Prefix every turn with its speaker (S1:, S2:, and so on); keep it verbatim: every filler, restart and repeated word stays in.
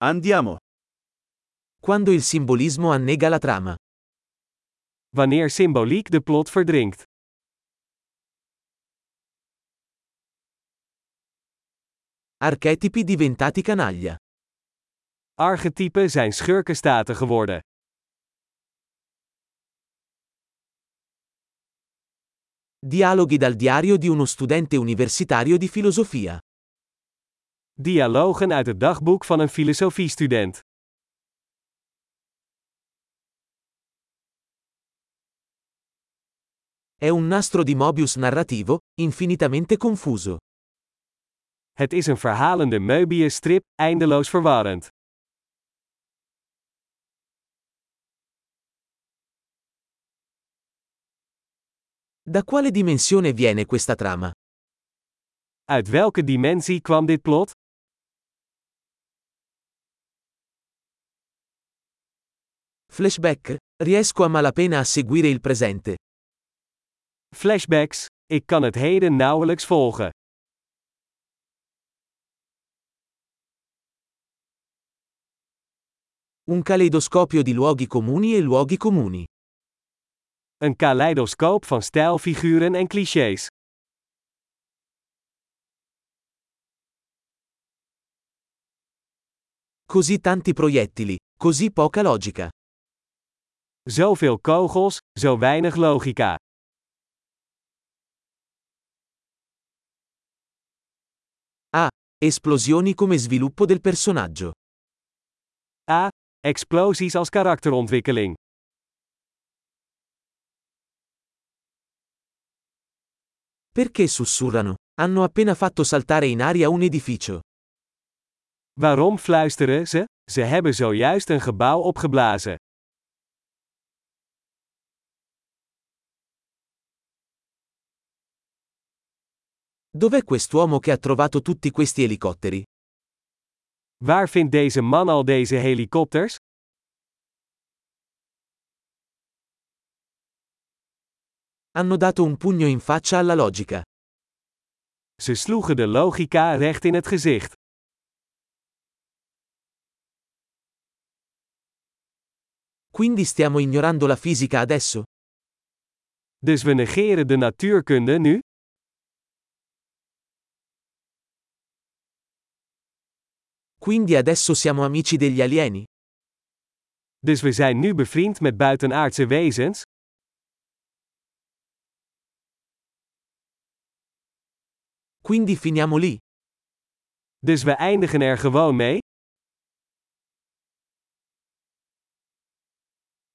S1: Andiamo.
S2: Quando il simbolismo annega la trama.
S3: Wanneer symboliek de plot verdrinkt.
S2: Archetipi diventati canaglia.
S3: Archetypen zijn schurkenstaten geworden.
S2: Dialoghi dal diario di uno studente universitario di filosofia.
S3: Dialogen uit het dagboek van een filosofiestudent.
S2: È un nastro di Mobius narrativo, infinitamente confuso.
S3: Het is een verhalende Möbius-strip, eindeloos verwarrend.
S2: Da quale dimensione viene questa trama?
S3: Uit welke dimensie kwam dit plot?
S2: Flashback? Riesco a malapena a seguire il presente.
S3: Flashbacks. Ik kan het heden nauwelijks volgen.
S2: Un caleidoscopio di luoghi comuni e luoghi comuni.
S3: Een kaleidoscoop van stijlfiguren en clichés.
S2: Così tanti proiettili, così poca logica.
S3: Zoveel kogels, zo weinig logica.
S2: Ah, esplosioni come sviluppo del personaggio.
S3: A. Explosies als karakterontwikkeling.
S2: Perché sussurrano? Hanno appena fatto saltare in aria un edificio.
S3: Waarom fluisteren ze? Ze hebben zojuist een gebouw opgeblazen.
S2: Dov'è quest'uomo che ha trovato tutti questi elicotteri?
S3: Waar vindt deze man al deze helikopters?
S2: Hanno dato un pugno in faccia alla logica.
S3: Ze sloegen de logica recht in het gezicht.
S2: Quindi stiamo ignorando la fisica adesso?
S3: Dus we negeren de natuurkunde nu?
S2: Quindi adesso siamo amici degli alieni?
S3: Dus we zijn nu bevriend met buitenaardse wezens?
S2: Quindi finiamo lì?
S3: Dus we eindigen er gewoon mee?